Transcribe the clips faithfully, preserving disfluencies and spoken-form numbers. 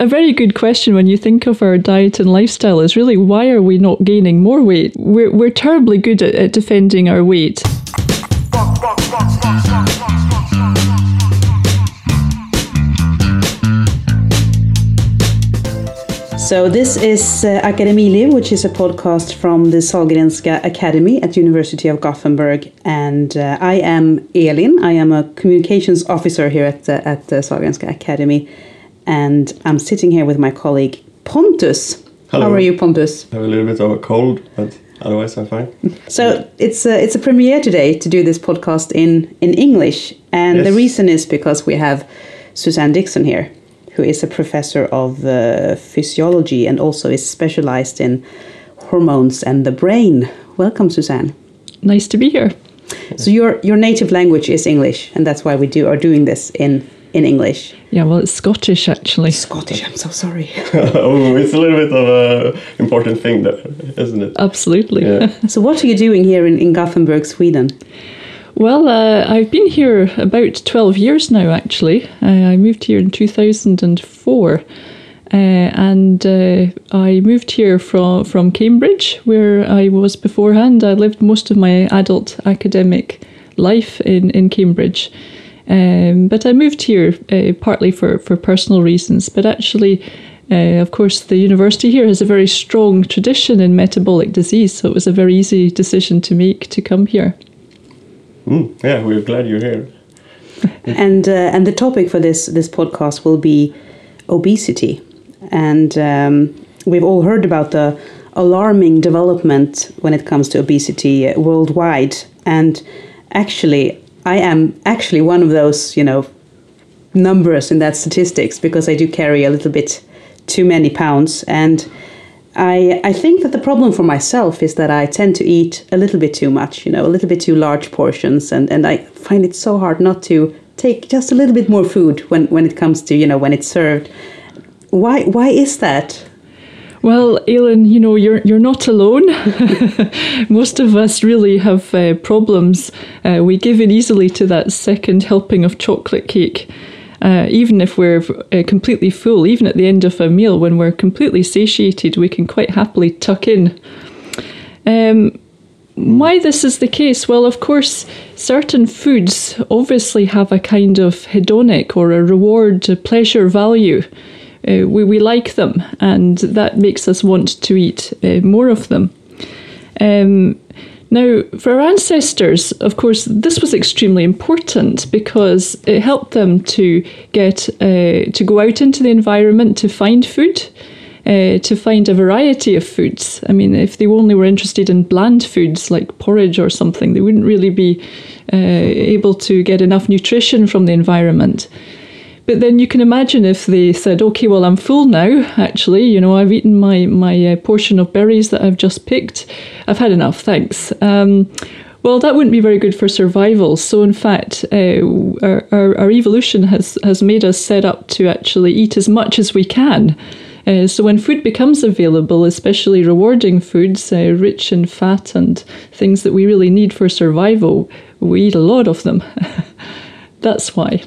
a very good question when you think of our diet and lifestyle is really, why are we not gaining more weight? We're, we're terribly good at, at defending our weight. So this is uh, Akademiliv, which is a podcast from the Sahlgrenska Academy at University of Gothenburg. And uh, I am Elin. I am a communications officer here at, uh, at the Sahlgrenska Academy. And I'm sitting here with my colleague Pontus. Hello. How are you, Pontus? I have a little bit of a cold, but otherwise I'm fine. So it's a, it's a premiere today to do this podcast in, in English. And yes. The reason is because we have Suzanne Dixon here, who is a professor of uh, physiology and also is specialized in hormones and the brain. Welcome, Suzanne. Nice to be here. So your your native language is English, and that's why we do are doing this in, in English. Yeah, well, it's Scottish, actually. Scottish, I'm so sorry. Oh, it's a little bit of an important thing there, isn't it? Absolutely. Yeah. So what are you doing here in, in Gothenburg, Sweden? Well, uh, I've been here about twelve years now, actually. Uh, I moved here in two thousand four, uh, and uh, I moved here from, from Cambridge, where I was beforehand. I lived most of my adult academic life in, in Cambridge. Um, but I moved here uh, partly for, for personal reasons, but actually, uh, of course, the university here has a very strong tradition in metabolic disease, so it was a very easy decision to make to come here. Mm, yeah, we're glad you're here. and uh, and the topic for this this podcast will be obesity, and um, we've all heard about the alarming development when it comes to obesity worldwide. And actually, I am actually one of those, you know, numbers in that statistics, because I do carry a little bit too many pounds. And I, I think that the problem for myself is that I tend to eat a little bit too much, you know, a little bit too large portions. And, and I find it so hard not to take just a little bit more food when, when it comes to, you know, when it's served. Why why is that? Well, Elin, you know, you're you're not alone. Most of us really have uh, problems. Uh, we give in easily to that second helping of chocolate cake. Uh, even if we're uh, completely full, even at the end of a meal, when we're completely satiated, we can quite happily tuck in. Um, why this is the case? Well, of course, certain foods obviously have a kind of hedonic or a reward, a pleasure value. Uh, we, we like them, and that makes us want to eat uh, more of them. Um, Now, for our ancestors, of course, this was extremely important because it helped them to get uh, to go out into the environment to find food, uh, to find a variety of foods. I mean, if they only were interested in bland foods like porridge or something, they wouldn't really be uh, able to get enough nutrition from the environment. But then you can imagine if they said, okay, well, I'm full now, actually, you know, I've eaten my, my uh, portion of berries that I've just picked. I've had enough, thanks. Um, well, that wouldn't be very good for survival. So, in fact, uh, our, our, our evolution has, has made us set up to actually eat as much as we can. Uh, so when food becomes available, especially rewarding foods, uh, rich in fat and things that we really need for survival, we eat a lot of them. That's why.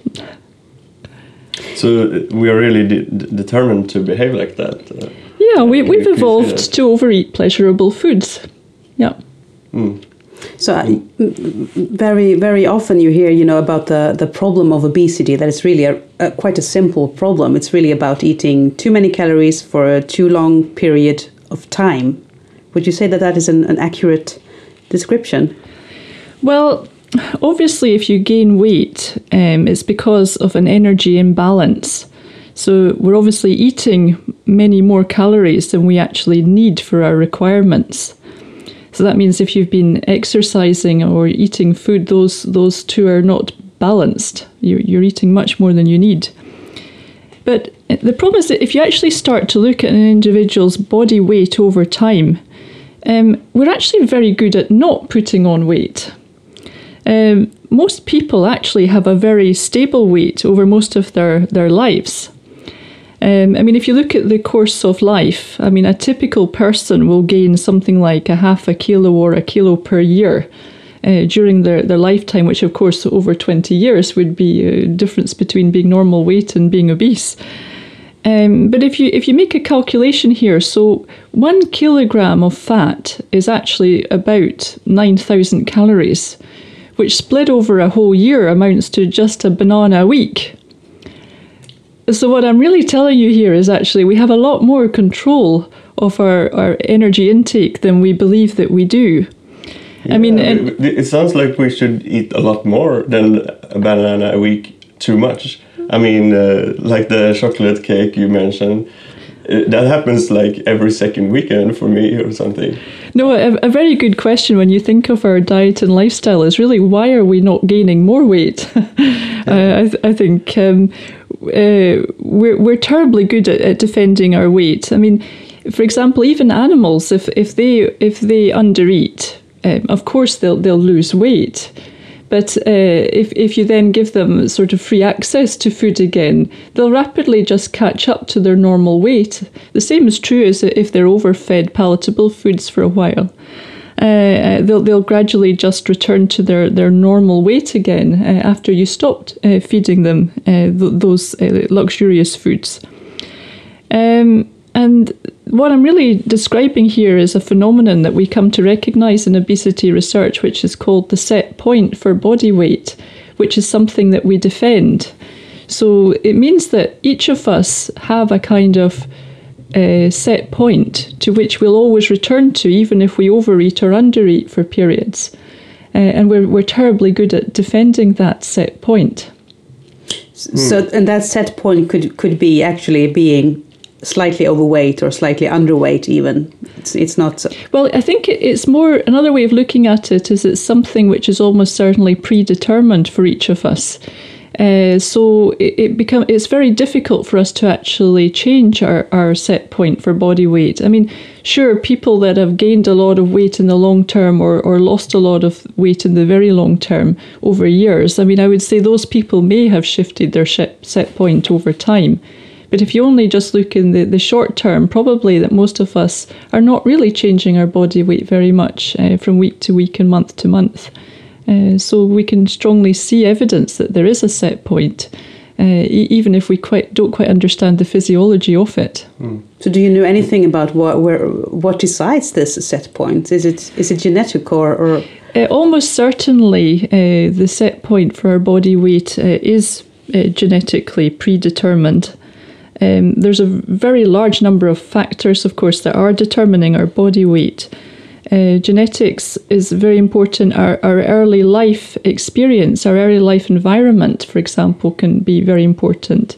So we are really de- determined to behave like that. Uh, yeah, we, we've evolved to overeat pleasurable foods. Yeah. Mm. So uh, very, very often you hear, you know, about the, the problem of obesity, that it's really a, a, quite a simple problem. It's really about eating too many calories for a too long period of time. Would you say that that is an, an accurate description? Well, obviously, if you gain weight, um, it's because of an energy imbalance. So we're obviously eating many more calories than we actually need for our requirements. So that means if you've been exercising or eating food, those those two are not balanced. You're, you're eating much more than you need. But the problem is that if you actually start to look at an individual's body weight over time, um, we're actually very good at not putting on weight. Um, most people actually have a very stable weight over most of their, their lives. Um, I mean, if you look at the course of life, I mean, a typical person will gain something like a half a kilo or a kilo per year uh, during their, their lifetime, which, of course, over twenty years would be a difference between being normal weight and being obese. Um, but if you if you make a calculation here, so one kilogram of fat is actually about nine thousand calories, which split over a whole year amounts to just a banana a week. So what I'm really telling you here is actually we have a lot more control of our, our energy intake than we believe that we do. Yeah, I mean, and it sounds like we should eat a lot more than a banana a week too much. I mean, uh, like the chocolate cake you mentioned, uh, that happens like every second weekend for me or something. No, a, a very good question when you think of our diet and lifestyle is really why are we not gaining more weight? uh, I, th- I think um, uh, we're, we're terribly good at, at defending our weight. I mean, for example, even animals, if, if they if they undereat, um, of course they'll they'll lose weight. But uh, if, if you then give them sort of free access to food again, they'll rapidly just catch up to their normal weight. The same is true as if they're overfed palatable foods for a while. Uh, they'll, they'll gradually just return to their, their normal weight again uh, after you stopped uh, feeding them uh, th- those uh, luxurious foods. Um, and what I'm really describing here is a phenomenon that we come to recognise in obesity research, which is called the set point for body weight, which is something that we defend. So it means that each of us have a kind of uh, set point to which we'll always return to, even if we overeat or undereat for periods. Uh, and we're, we're terribly good at defending that set point. So, and that set point could, could be actually being slightly overweight or slightly underweight even. It's, it's not so. Well, I think it's more, another way of looking at it is it's something which is almost certainly predetermined for each of us. Uh, so it, it become it's very difficult for us to actually change our, our set point for body weight. I mean, sure, people that have gained a lot of weight in the long term or, or lost a lot of weight in the very long term over years, I mean, I would say those people may have shifted their set point over time. But if you only just look in the, the short term, probably that most of us are not really changing our body weight very much uh, from week to week and month to month. Uh, so we can strongly see evidence that there is a set point, uh, e- even if we quite don't quite understand the physiology of it. Mm. So do you know anything about what where what decides this set point? Is it is it genetic or... or? Uh, almost certainly uh, the set point for our body weight uh, is uh, genetically predetermined. Um, there's a very large number of factors, of course, that are determining our body weight. Uh, genetics is very important. Our, our early life experience, our early life environment, for example, can be very important.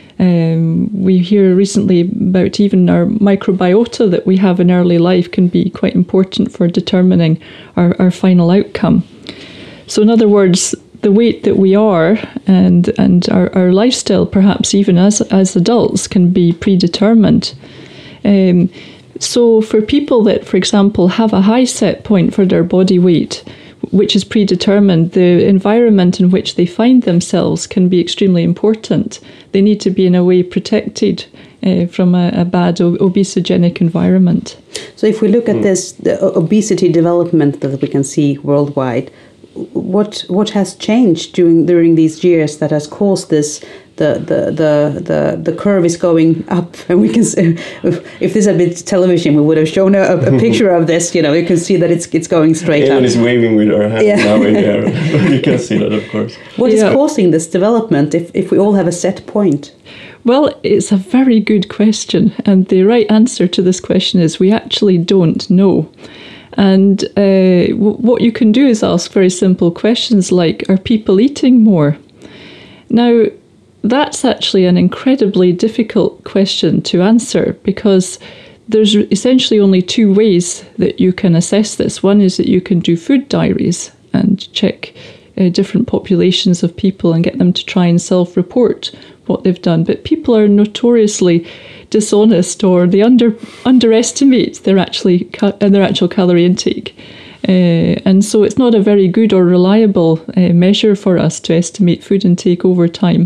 Um, we hear recently about even our microbiota that we have in early life can be quite important for determining our, our final outcome. So in other words, the weight that we are and and our, our lifestyle, perhaps even as as adults, can be predetermined. Um, so for people that, for example, have a high set point for their body weight, which is predetermined, the environment in which they find themselves can be extremely important. They need to be in a way protected uh, from a, a bad ob- obesogenic environment. So if we look at this, the obesity development that we can see worldwide, What what has changed during during these years that has caused this? The the the the, the curve is going up, and we can see, if, if this had been television, we would have shown a, a picture of this. You know, you can see that it's it's going straight Ellen up. is waving with her hands Yeah. now in the air. You can see that, of course. What Yeah. is causing this development? If if we all have a set point. Well, it's a very good question, and the right answer to this question is we actually don't know. And uh, w- what you can do is ask very simple questions like, are people eating more? Now, that's actually an incredibly difficult question to answer because there's essentially only two ways that you can assess this. One is that you can do food diaries and check uh, different populations of people and get them to try and self-report what they've done. But people are notoriously dishonest, or they under underestimate their actually ca- their actual calorie intake, uh, and so it's not a very good or reliable uh, measure for us to estimate food intake over time.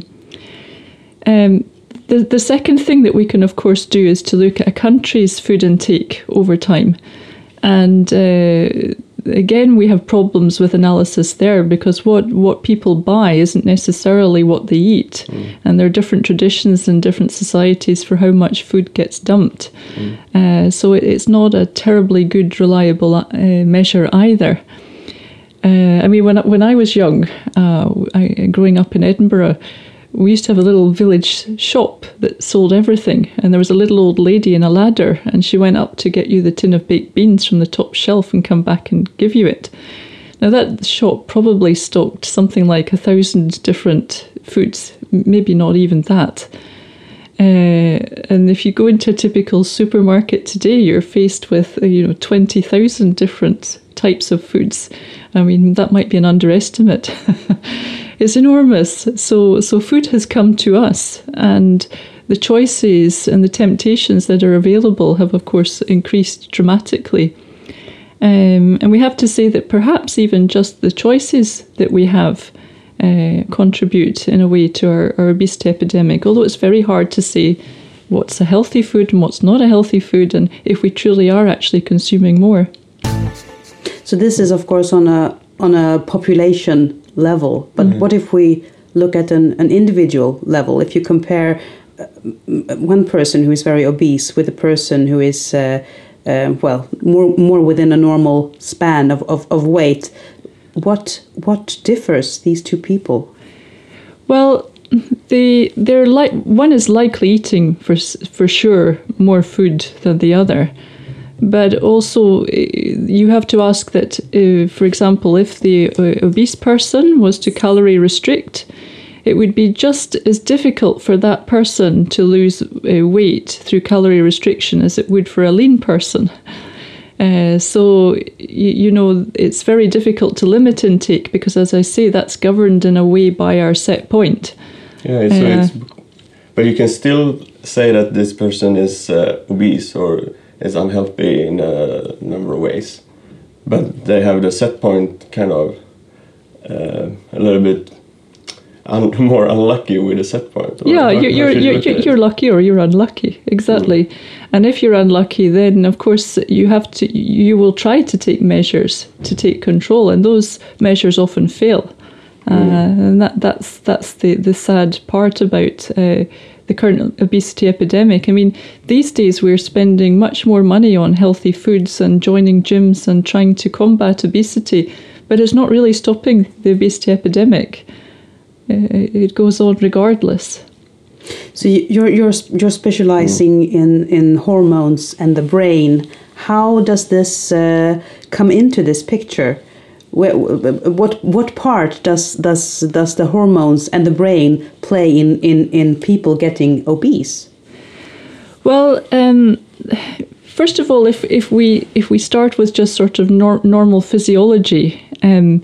Um, the the second thing that we can, of course, do is to look at a country's food intake over time, and uh, again, we have problems with analysis there, because what, what people buy isn't necessarily what they eat. Mm. And there are different traditions in different societies for how much food gets dumped. Mm. Uh, so it, it's not a terribly good, reliable uh, measure either. Uh, I mean, when, when I was young, uh, I, growing up in Edinburgh, we used to have a little village shop that sold everything, and there was a little old lady in a ladder, and she went up to get you the tin of baked beans from the top shelf and come back and give you it. Now that shop probably stocked something like a thousand different foods, maybe not even that. Uh, and if you go into a typical supermarket today, you're faced with uh, you know twenty thousand different types of foods. I mean, that might be an underestimate. It's enormous. So, so food has come to us, and the choices and the temptations that are available have, of course, increased dramatically. Um, and we have to say that perhaps even just the choices that we have uh, contribute in a way to our, our obesity epidemic, although it's very hard to say what's a healthy food and what's not a healthy food, and if we truly are actually consuming more. So this is, of course, on a on a population level, but mm-hmm. what if we look at an, an individual level? If you compare uh, one person who is very obese with a person who is, uh, uh, well, more more within a normal span of, of, of weight, what what differs these two people? Well, they they're like one is likely eating for for sure more food than the other. But also, you have to ask that, uh, for example, if the uh, obese person was to calorie restrict, it would be just as difficult for that person to lose uh, weight through calorie restriction as it would for a lean person. Uh, so, you, you know, it's very difficult to limit intake because, as I say, that's governed in a way by our set point. Yeah, so uh, it's, but you can still say that this person is uh, obese or is unhealthy in a number of ways, but they have the set point kind of uh, a little bit un more unlucky with the set point. Or yeah, you're you're you're, you're, you're lucky or you're unlucky, exactly. Mm. And if you're unlucky, then of course you have to you will try to take measures to take control, and those measures often fail. Mm. Uh, and that that's that's the the sad part about Uh, the current obesity epidemic. I mean, these days we're spending much more money on healthy foods and joining gyms and trying to combat obesity, but it's not really stopping the obesity epidemic. It goes on regardless. So you're you're you're specializing mm. in in hormones and the brain. How does this uh, come into this picture? What what part does does does the hormones and the brain play in, in, in people getting obese? Well, um, first of all, if if we if we start with just sort of nor normal physiology, um,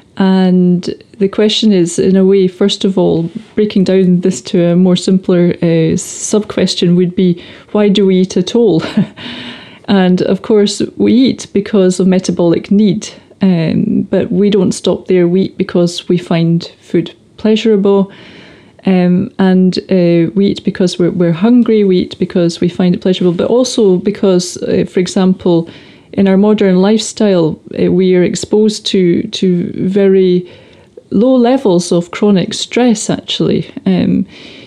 and the question is, in a way, first of all, breaking down this to a more simpler uh, sub question would be, why do we eat at all? And of course, we eat because of metabolic need. Um, but we don't stop there. We eat because we find food pleasurable, um, and uh, we eat because we're, we're hungry. We eat because we find it pleasurable, but also because, uh, for example, in our modern lifestyle, uh, we are exposed to to very low levels of chronic stress. Actually, um,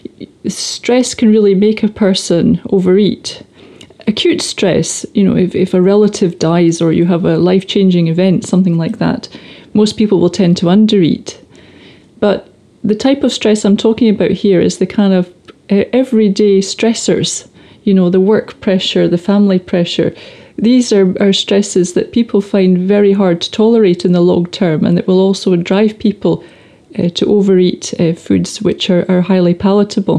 stress can really make a person overeat. Acute stress, you know, if, if a relative dies or you have a life-changing event, something like that, most people will tend to undereat. But the type of stress I'm talking about here is the kind of uh, everyday stressors, you know, the work pressure, the family pressure. These are, are stresses that people find very hard to tolerate in the long term, and that will also drive people uh, to overeat uh, foods which are, are highly palatable.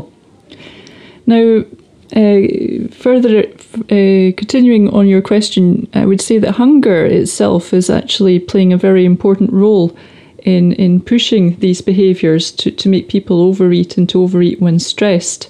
Now, Uh, further, uh, continuing on your question, I would say that hunger itself is actually playing a very important role in, in pushing these behaviours to, to make people overeat and to overeat when stressed.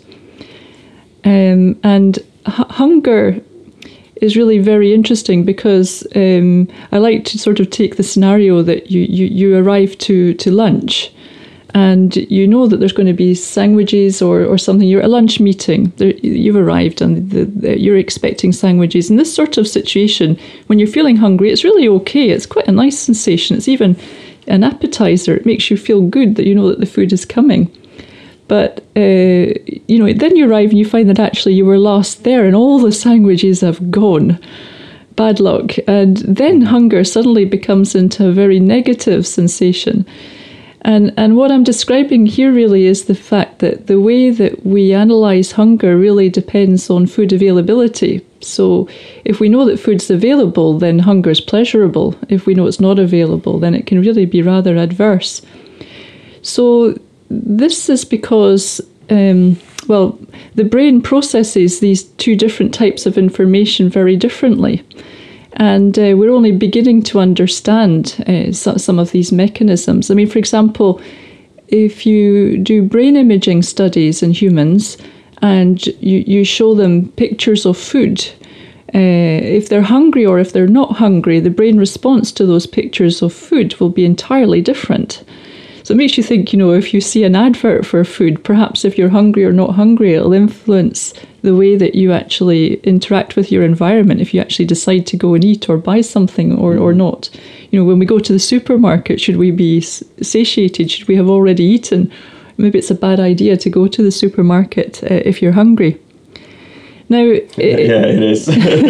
Um, and hunger is really very interesting because um, I like to sort of take the scenario that you, you, you arrive to, to lunch, and you know that there's going to be sandwiches or, or something. You're at a lunch meeting, there, you've arrived and the, the, you're expecting sandwiches. In this sort of situation, when you're feeling hungry, it's really okay. It's quite a nice sensation. It's even an appetizer. It makes you feel good that you know that the food is coming. But, uh, you know, then you arrive and you find that actually you were last there and all the sandwiches have gone. Bad luck. And then hunger suddenly becomes into a very negative sensation. And and what I'm describing here really is the fact that the way that we analyse hunger really depends on food availability. So if we know that food's available, then hunger's pleasurable. If we know it's not available, then it can really be rather adverse. So this is because, um, well, the brain processes these two different types of information very differently. And uh, we're only beginning to understand uh, so, some of these mechanisms. I mean, for example, if you do brain imaging studies in humans and you, you show them pictures of food, uh, if they're hungry or if they're not hungry, the brain response to those pictures of food will be entirely different. So it makes you think, you know, if you see an advert for food, perhaps if you're hungry or not hungry, it'll influence the way that you actually interact with your environment, if you actually decide to go and eat or buy something or, or not. You know, when we go to the supermarket, should we be satiated? Should we have already eaten? Maybe it's a bad idea to go to the supermarket uh, if you're hungry. Now, it, yeah, it is.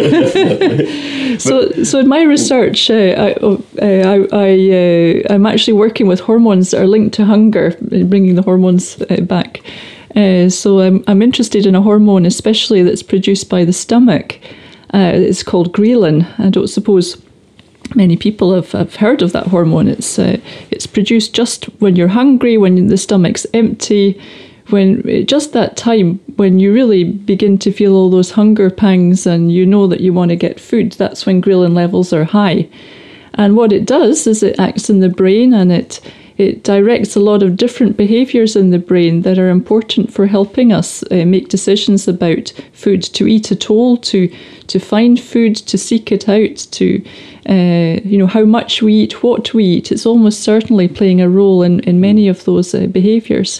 so, so in my research, uh, I, uh, I, I, uh, I'm actually working with hormones that are linked to hunger, bringing the hormones uh, back. Uh, so I'm, I'm interested in a hormone, especially that's produced by the stomach. Uh, it's called ghrelin. I don't suppose many people have, have heard of that hormone. It's uh, it's produced just when you're hungry, when the stomach's empty. When just that time when you really begin to feel all those hunger pangs and you know that you want to get food, that's when ghrelin levels are high. And what it does is it acts in the brain and it it directs a lot of different behaviours in the brain that are important for helping us uh, make decisions about food, to eat at all, to to find food, to seek it out, to uh, you know, how much we eat, what we eat. It's almost certainly playing a role in, in many of those uh, behaviours.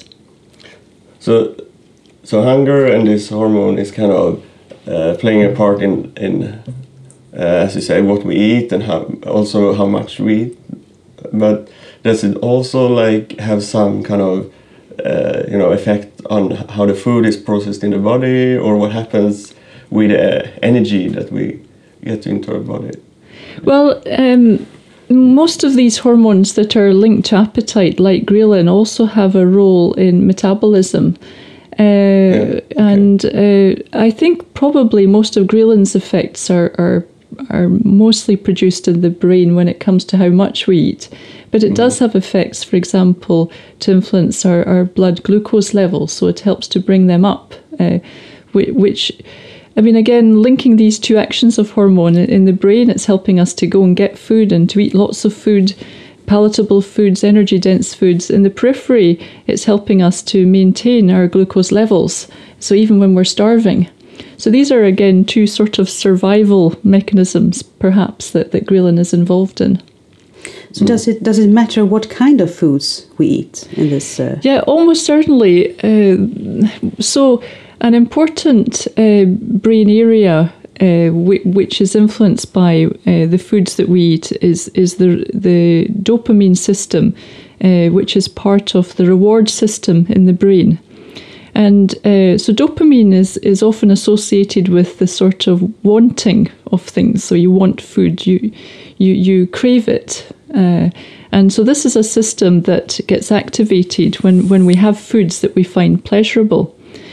So, so hunger and this hormone is kind of uh, playing a part in, in uh, as you say, what we eat and how, also how much we eat. But does it also like have some kind of uh, you know effect on how the food is processed in the body, or what happens with the energy that we get into our body? Well, um, most of these hormones that are linked to appetite, like ghrelin, also have a role in metabolism. Uh, yeah, okay. And uh, I think probably most of ghrelin's effects are, are are mostly produced in the brain when it comes to how much we eat. But it mm. does have effects, for example, to influence our, our blood glucose levels, so it helps to bring them up, uh, which... I mean, again, linking these two actions of hormone in the brain, it's helping us to go and get food and to eat lots of food, palatable foods, energy-dense foods. In the periphery, it's helping us to maintain our glucose levels, so even when we're starving. So these are, again, two sort of survival mechanisms, perhaps, that, that ghrelin is involved in. So does it does it matter what kind of foods we eat in this? Uh... Yeah, almost certainly. Uh, so... An important uh, brain area uh, w- which is influenced by uh, the foods that we eat is is the the dopamine system, uh, which is part of the reward system in the brain. And uh, so dopamine is, is often associated with the sort of wanting of things. So you want food, you you, you crave it. Uh, and so this is a system that gets activated when, when we have foods that we find pleasurable.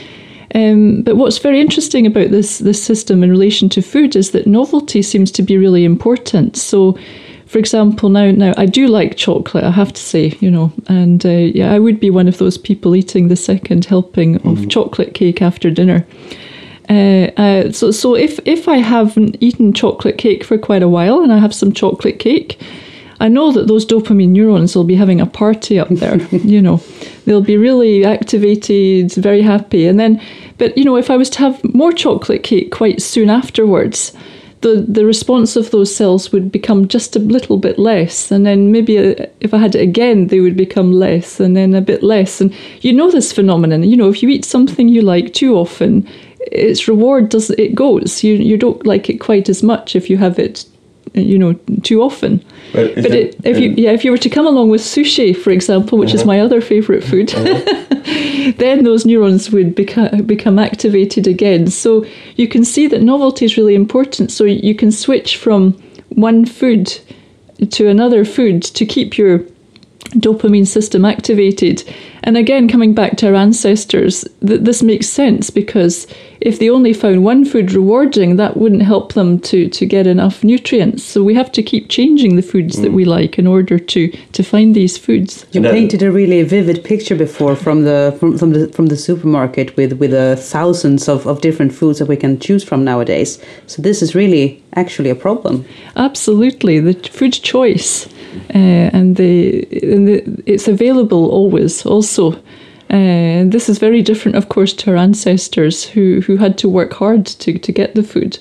Um, but what's very interesting about this this system in relation to food is that novelty seems to be really important. So, for example, now now I do like chocolate, I have to say, you know, and uh, yeah, I would be one of those people eating the second helping of mm. chocolate cake after dinner. Uh, uh, so so if if I haven't eaten chocolate cake for quite a while and I have some chocolate cake, I know that those dopamine neurons will be having a party up there, you know. They'll be really activated, very happy. And then, but, you know, if I was to have more chocolate cake quite soon afterwards, the, the response of those cells would become just a little bit less. And then maybe if I had it again, they would become less and then a bit less. And you know this phenomenon. You know, if you eat something you like too often, its reward doesn't, it goes. You, you don't like it quite as much if you have it, you know, too often. But, but it, if you yeah, if you were to come along with sushi, for example, which uh-huh. is my other favourite food, uh-huh. then those neurons would become become activated again. So you can see that novelty is really important. So you can switch from one food to another food to keep your dopamine system activated. And again, coming back to our ancestors, th- this makes sense, because if they only found one food rewarding, that wouldn't help them to, to get enough nutrients. So we have to keep changing the foods mm. that we like in order to, to find these foods. You painted a really vivid picture before from the from, from the from the supermarket with with uh, thousands of, of different foods that we can choose from nowadays. So this is really actually a problem. Absolutely, the food choice. Uh, and, the, and the, it's available always also. Uh, and this is very different, of course, to our ancestors who, who had to work hard to, to get the food.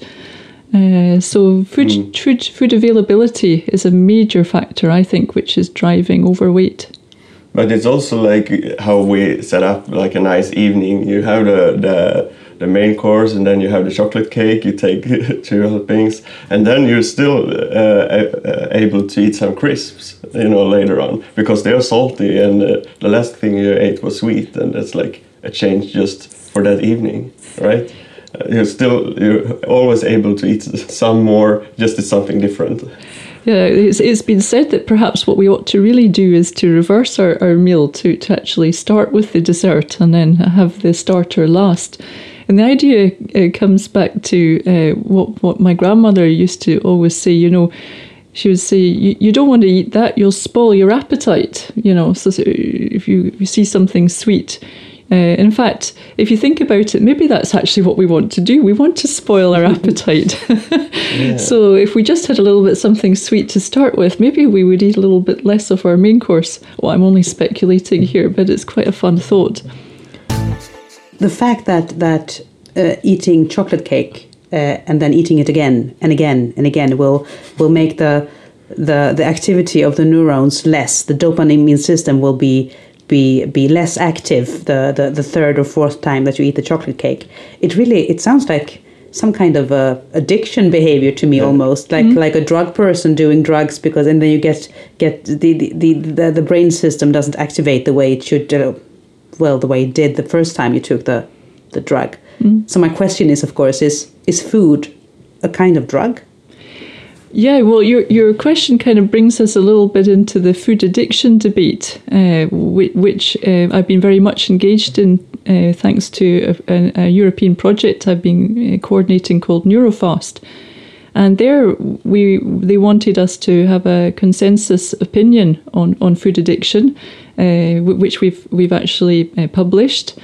Uh, so food, mm. food food availability is a major factor, I think, which is driving overweight. But it's also like how we set up like a nice evening. You have the the, the main course, and then you have the chocolate cake. You take two helpings, and then you're still uh, uh, able to eat some crisps, you know, later on, because they are salty, and uh, the last thing you ate was sweet, and that's like a change just for that evening, right? Uh, you're still you're always able to eat some more, just as something different. Yeah, it's, it's been said that perhaps what we ought to really do is to reverse our, our meal, to, to actually start with the dessert and then have the starter last. And the idea uh, comes back to uh, what, what my grandmother used to always say, you know, she would say, you, you don't want to eat that, you'll spoil your appetite, you know, so, so if you, if you see something sweet. Uh, in fact, if you think about it, maybe that's actually what we want to do. We want to spoil our appetite. Yeah. So if we just had a little bit something sweet to start with, maybe we would eat a little bit less of our main course. Well, I'm only speculating here, but it's quite a fun thought. The fact that, that uh, eating chocolate cake uh, and then eating it again and again and again will will make the, the, the activity of the neurons less. The dopamine system will be be be less active the, the, the third or fourth time that you eat the chocolate cake. It really, it sounds like some kind of a addiction behavior to me, yeah. almost like mm-hmm. like a drug person doing drugs, because and then you get get the the, the, the, the brain system doesn't activate the way it should, uh, well, the way it did the first time you took the, the drug. Mm-hmm. So my question is, of course, is is food a kind of drug? Yeah, well, your your question kind of brings us a little bit into the food addiction debate, uh, which, which uh, I've been very much engaged in, uh, thanks to a, a European project I've been coordinating called Neurofast. And there, we they wanted us to have a consensus opinion on, on food addiction, uh, which we've we've actually uh, published.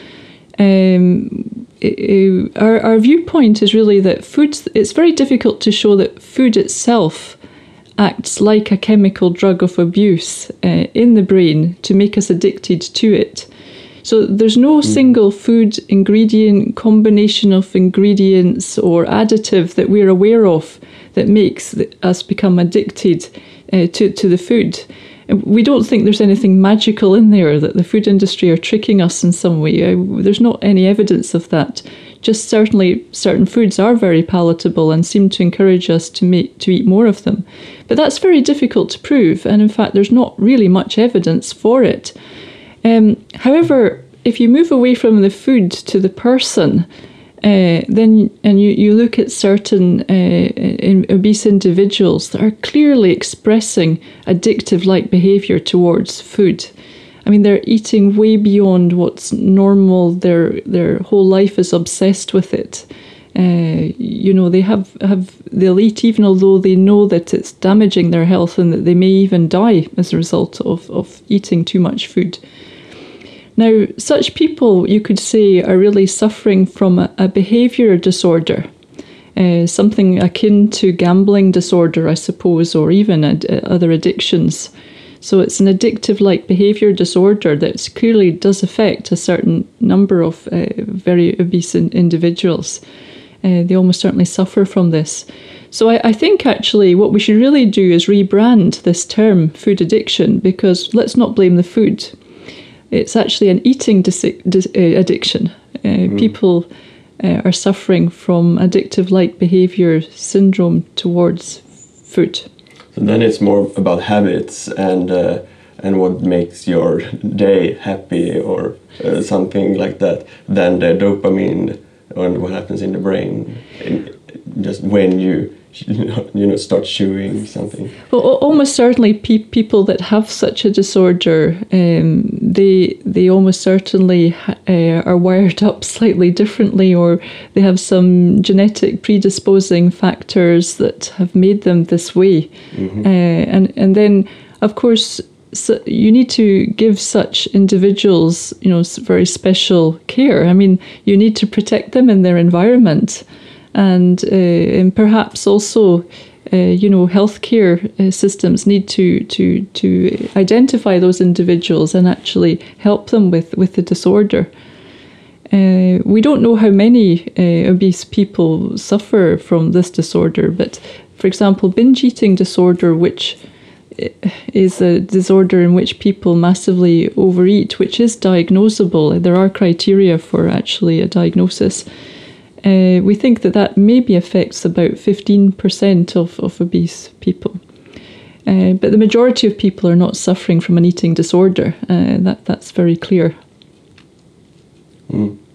Um, it, our, our viewpoint is really that food, it's very difficult to show that food itself acts like a chemical drug of abuse uh, in the brain to make us addicted to it. So there's no mm. single food ingredient, combination of ingredients or additive that we're aware of that makes us become addicted uh, to, to the food. We don't think there's anything magical in there, that the food industry are tricking us in some way. There's not any evidence of that. Just certainly certain foods are very palatable and seem to encourage us to make to eat more of them. But that's very difficult to prove, and in fact there's not really much evidence for it. Um, however, if you move away from the food to the person, Uh, then and you, you look at certain uh, in obese individuals that are clearly expressing addictive-like behaviour towards food. I mean, they're eating way beyond what's normal. Their their whole life is obsessed with it. Uh, you know, they have, have they'll eat even although they know that it's damaging their health and that they may even die as a result of, of eating too much food. Now, such people, you could say, are really suffering from a, a behaviour disorder, uh, something akin to gambling disorder, I suppose, or even ad, uh, other addictions. So it's an addictive-like behaviour disorder that clearly does affect a certain number of uh, very obese in, individuals. Uh, they almost certainly suffer from this. So I, I think actually what we should really do is rebrand this term food addiction, because let's not blame the food. It's actually an eating dis- dis- uh, addiction. Uh, mm. People uh, are suffering from addictive-like behaviour syndrome towards food. So then it's more about habits and uh, and what makes your day happy or uh, something like that than the dopamine and what happens in the brain in, just when you you know start chewing something. Well, almost certainly pe- people that have such a disorder, um, they they almost certainly uh, are wired up slightly differently, or they have some genetic predisposing factors that have made them this way. Mm-hmm. Uh, and and then of course, so you need to give such individuals, you know, very special care. I mean, you need to protect them in their environment, and uh, and perhaps also, uh, you know, healthcare uh, systems need to to to identify those individuals and actually help them with with the disorder. Uh, we don't know how many uh, obese people suffer from this disorder, but for example, binge eating disorder, which is a disorder in which people massively overeat, which is diagnosable. There are criteria for actually a diagnosis. Uh, we think that that maybe affects about fifteen percent of, of obese people. Uh, but the majority of people are not suffering from an eating disorder. Uh, that That's very clear. Mm. Okay.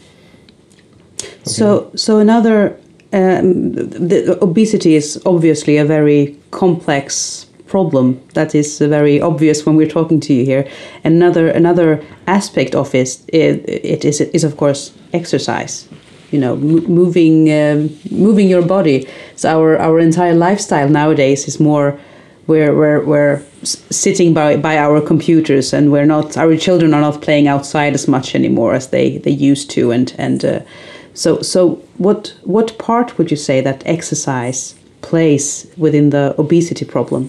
So, so another, um, the obesity is obviously a very complex problem. That is very obvious when we're talking to you here. Another another aspect of it, it, it is is of course exercise. You know, m- moving um, moving your body. So our our entire lifestyle nowadays is more we're we're we're sitting by by our computers, and we're not our children are not playing outside as much anymore as they they used to. And and uh, so so what what part would you say that exercise plays within the obesity problem?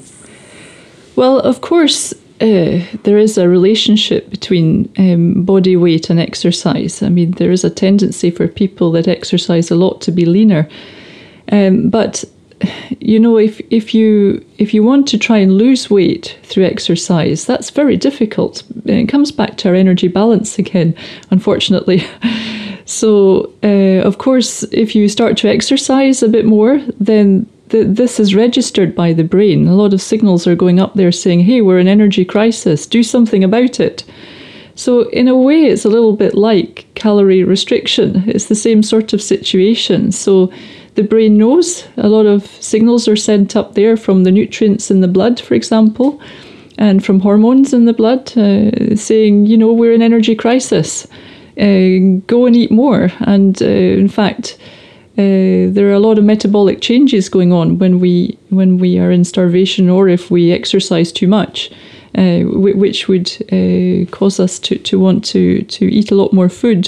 Well, of course, uh, there is a relationship between um, body weight and exercise. I mean, there is a tendency for people that exercise a lot to be leaner. Um, but, you know, if, if you if you want to try and lose weight through exercise, that's very difficult. It comes back to our energy balance again, unfortunately. So, uh, of course, if you start to exercise a bit more, then this is registered by the brain. A lot of signals are going up there saying, hey, we're in energy crisis, do something about it. So in a way, it's a little bit like calorie restriction. It's the same sort of situation. So the brain knows a lot of signals are sent up there from the nutrients in the blood, for example, and from hormones in the blood, uh, saying, you know, we're in energy crisis. Uh, go and eat more. And uh, in fact, Uh, there are a lot of metabolic changes going on when we when we are in starvation, or if we exercise too much, uh, w- which would uh, cause us to, to want to, to eat a lot more food.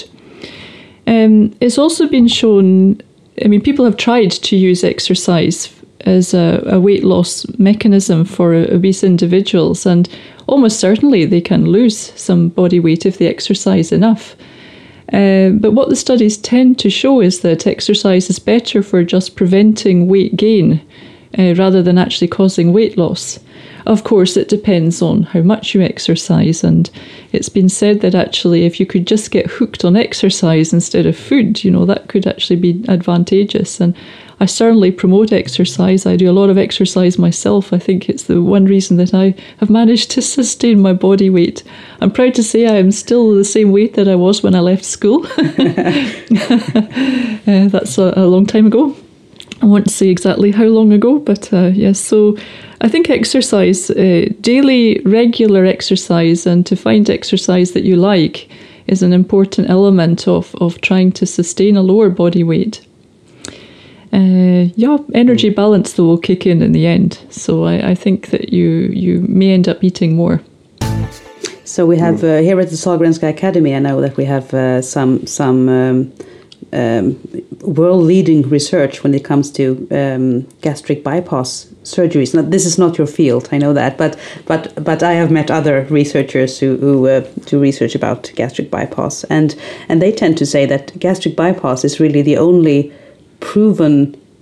Um, it's also been shown, I mean, people have tried to use exercise as a, a weight loss mechanism for obese individuals, and almost certainly they can lose some body weight if they exercise enough. Uh, but what the studies tend to show is that exercise is better for just preventing weight gain uh, rather than actually causing weight loss. Of course, it depends on how much you exercise, and it's been said that actually if you could just get hooked on exercise instead of food, you know, that could actually be advantageous. And I certainly promote exercise. I do a lot of exercise myself. I think it's the one reason that I have managed to sustain my body weight. I'm proud to say I am still the same weight that I was when I left school. uh, that's a, a long time ago. I won't say exactly how long ago, but uh, yes, so I think exercise, uh, daily, regular exercise, and to find exercise that you like is an important element of, of trying to sustain a lower body weight. Uh, yeah, energy balance though will kick in in the end. So I, I think that you you may end up eating more. So we have uh, here at the Sahlgrenska Academy, I know that we have uh, some some um, um, world-leading research when it comes to um, gastric bypass surgeries. Now, this is not your field, I know that, but but but I have met other researchers who, who uh, do research about gastric bypass, and and they tend to say that gastric bypass is really the only proven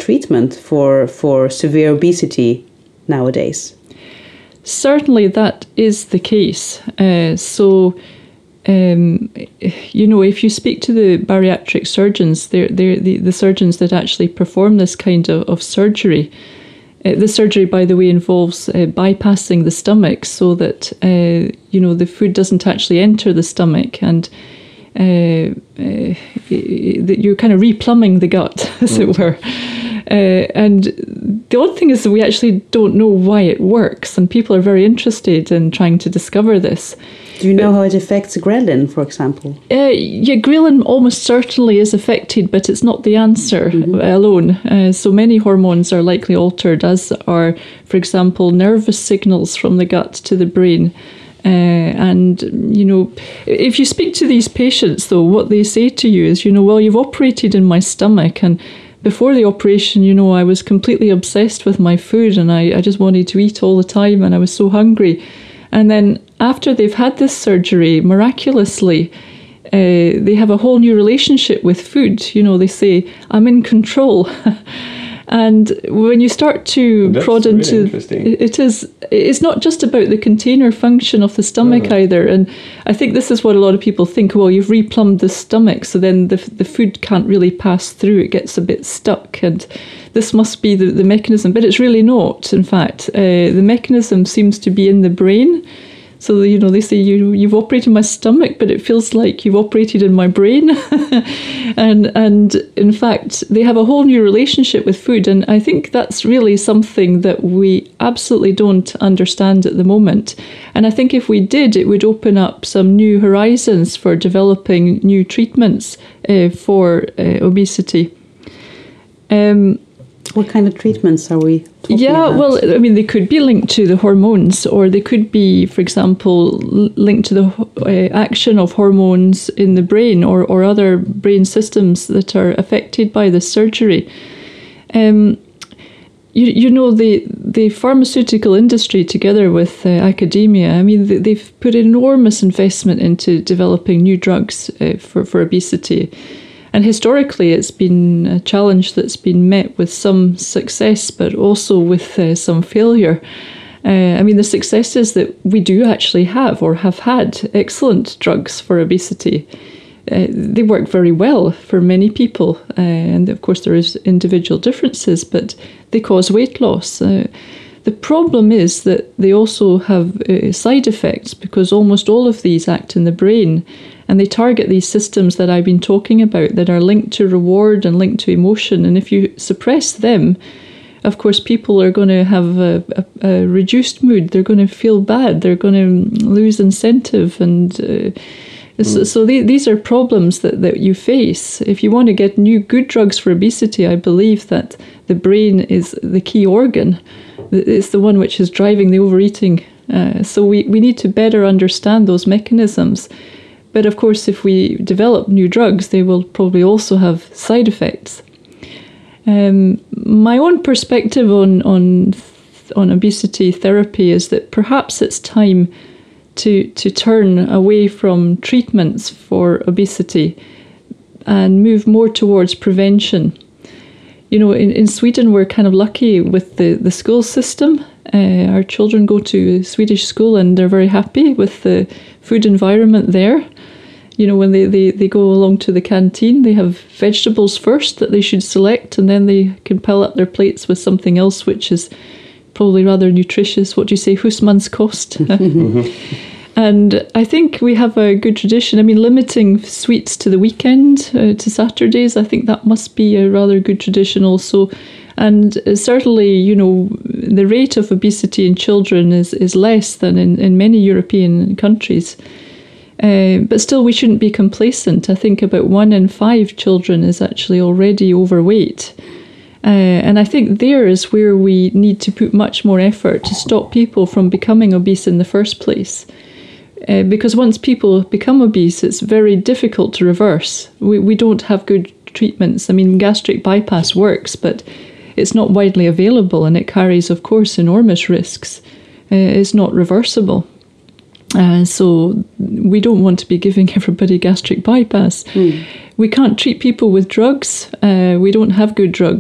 treatment for for severe obesity nowadays? Certainly, that is the case. Uh, so. Um, you know, if you speak to the bariatric surgeons, they're, they're the, the surgeons that actually perform this kind of, of surgery. Uh, the surgery, by the way, involves uh, bypassing the stomach so that, uh, you know, the food doesn't actually enter the stomach, and uh, uh, you're kind of replumbing the gut, as mm. it were. Uh, and the odd thing is that we actually don't know why it works, and people are very interested in trying to discover this. Do you know but, how it affects ghrelin, for example? Uh, yeah, ghrelin almost certainly is affected, but it's not the answer mm-hmm. alone. Uh, so many hormones are likely altered, as are, for example, nervous signals from the gut to the brain. Uh, and, you know, if you speak to these patients, though, what they say to you is, you know, well, you've operated in my stomach, and before the operation, you know, I was completely obsessed with my food, and I, I just wanted to eat all the time, and I was so hungry. And then after they've had this surgery, miraculously, uh, they have a whole new relationship with food. You know, they say, I'm in control. And when you start to That's prod really into interesting. it is it's not just about the container function of the stomach no. either. And I think this is what a lot of people think, well, you've replumbed the stomach, so then the the food can't really pass through, it gets a bit stuck, and this must be the, the mechanism, but it's really not. In fact, uh, the mechanism seems to be in the brain. So, you know, they say, you, you've operated my stomach, but it feels like you've operated in my brain. and and in fact, they have a whole new relationship with food. And I think that's really something that we absolutely don't understand at the moment. And I think if we did, it would open up some new horizons for developing new treatments uh, for uh, obesity. Um, What kind of treatments are we talking yeah, about? well, I mean, they could be linked to the hormones, or they could be, for example, linked to the uh, action of hormones in the brain, or, or other brain systems that are affected by the surgery. Um, you, you know, the, the pharmaceutical industry, together with uh, academia, I mean, they, they've put enormous investment into developing new drugs uh, for, for obesity. And historically, it's been a challenge that's been met with some success, but also with uh, some failure. Uh, I mean, the success is that we do actually have, or have had, excellent drugs for obesity. Uh, they work very well for many people. Uh, and of course, there is individual differences, but they cause weight loss. Uh, the problem is that they also have uh, side effects, because almost all of these act in the brain. And they target these systems that I've been talking about that are linked to reward and linked to emotion. And if you suppress them, of course, people are going to have a, a, a reduced mood. They're going to feel bad. They're going to lose incentive. And uh, mm. so, so they, these are problems that, that you face. If you want to get new good drugs for obesity, I believe that the brain is the key organ. It's the one which is driving the overeating. Uh, so we, we need to better understand those mechanisms. But of course, if we develop new drugs, they will probably also have side effects. Um, my own perspective on, on on obesity therapy is that perhaps it's time to to turn away from treatments for obesity and move more towards prevention. You know, in, in Sweden, we're kind of lucky with the, the school system. Uh, our children go to Swedish school and they're very happy with the food environment there. You know, when they, they, they go along to the canteen, they have vegetables first that they should select, and then they can pile up their plates with something else which is probably rather nutritious. What do you say, husmanskost? And I think we have a good tradition. I mean, limiting sweets to the weekend, uh, to Saturdays, I think that must be a rather good tradition also. And certainly, you know, the rate of obesity in children is, is less than in, in many European countries. Uh, but still, we shouldn't be complacent. I think about one in five children is actually already overweight. Uh, and I think there is where we need to put much more effort to stop people from becoming obese in the first place. Uh, because once people become obese, it's very difficult to reverse. We, we don't have good treatments. I mean, gastric bypass works, but it's not widely available, and it carries, of course, enormous risks. Uh, it's not reversible. Uh, so we don't want to be giving everybody gastric bypass. Mm. We can't treat people with drugs. Uh, we don't have good drugs.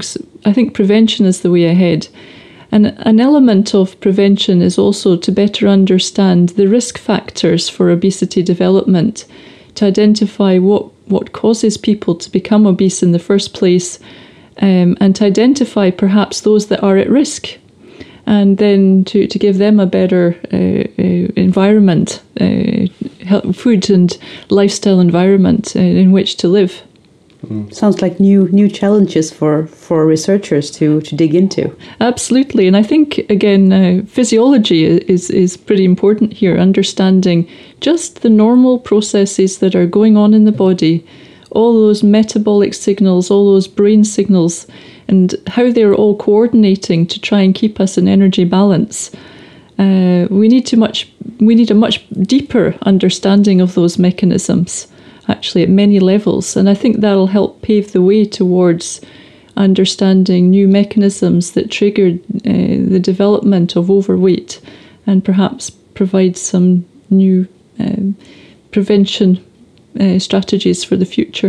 I think prevention is the way ahead. And an element of prevention is also to better understand the risk factors for obesity development, to identify what, what causes people to become obese in the first place, um, and to identify perhaps those that are at risk, and then to, to give them a better uh, uh, environment, uh, food and lifestyle environment uh, in which to live. Mm. Sounds like new new challenges for, for researchers to, to dig into. Absolutely, and I think again uh, physiology is is pretty important here. Understanding just the normal processes that are going on in the body, all those metabolic signals, all those brain signals, and how they're all coordinating to try and keep us in energy balance. Uh, we need to much we need a much deeper understanding of those mechanisms, actually at many levels, and I think that'll help pave the way towards understanding new mechanisms that triggered uh, the development of overweight, and perhaps provide some new um, prevention uh, strategies for the future.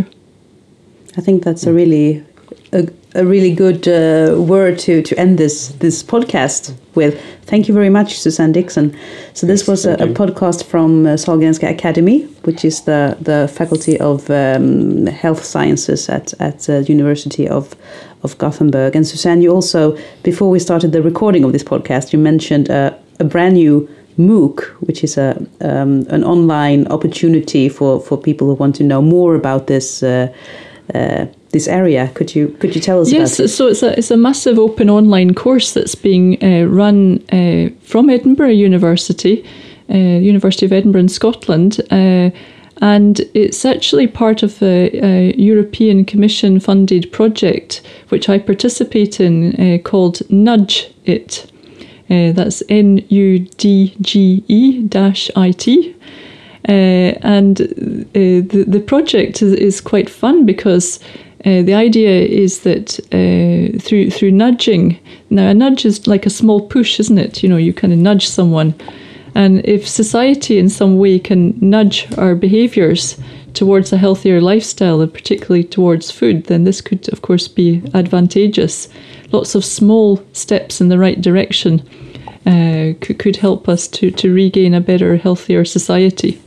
I think that's a really a, a really good uh, word to, to end this this podcast with. Thank you very much, Susanne Dixon. So this was a, a podcast from uh, Sahlgrenska Academy, which is the, the Faculty of um, Health Sciences at at the University of of Gothenburg. And Susanne, you also, before we started the recording of this podcast, you mentioned a, a brand new MOOC, which is a um, an online opportunity for, for people who want to know more about this uh, uh, this area. Could you could you tell us yes, about it? Yes, so it's a it's a massive open online course that's being uh, run uh, from Edinburgh University, uh, University of Edinburgh in Scotland, uh, and it's actually part of a, a European Commission funded project which I participate in uh, called Nudge It. Uh, that's N U D G E dash I T. Uh, and uh, the, the project is, is quite fun because uh, the idea is that uh, through through nudging, now a nudge is like a small push, isn't it? You know, you kind of nudge someone. And if society in some way can nudge our behaviours towards a healthier lifestyle, and particularly towards food, then this could, of course, be advantageous. Lots of small steps in the right direction uh, could, could help us to, to regain a better, healthier society.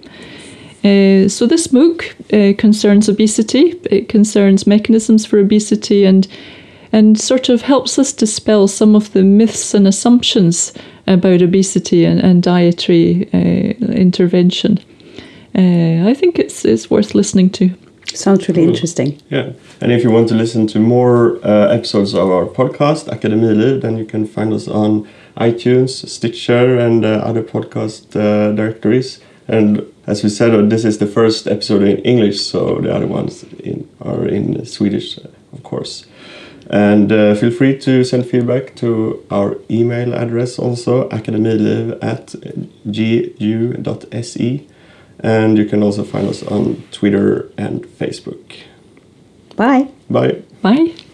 Uh, so this MOOC uh, concerns obesity. It concerns mechanisms for obesity and and sort of helps us dispel some of the myths and assumptions about obesity and, and dietary uh, intervention. Uh, I think it's it's worth listening to. Sounds really cool. Interesting. Yeah, and if you want to listen to more uh, episodes of our podcast, Akademiliv, then you can find us on iTunes, Stitcher, and uh, other podcast uh, directories. And as we said, this is the first episode in English, so the other ones in, are in Swedish, of course. And uh, feel free to send feedback to our email address also, akademiliv at g u dot s e. And you can also find us on Twitter and Facebook. Bye. Bye. Bye.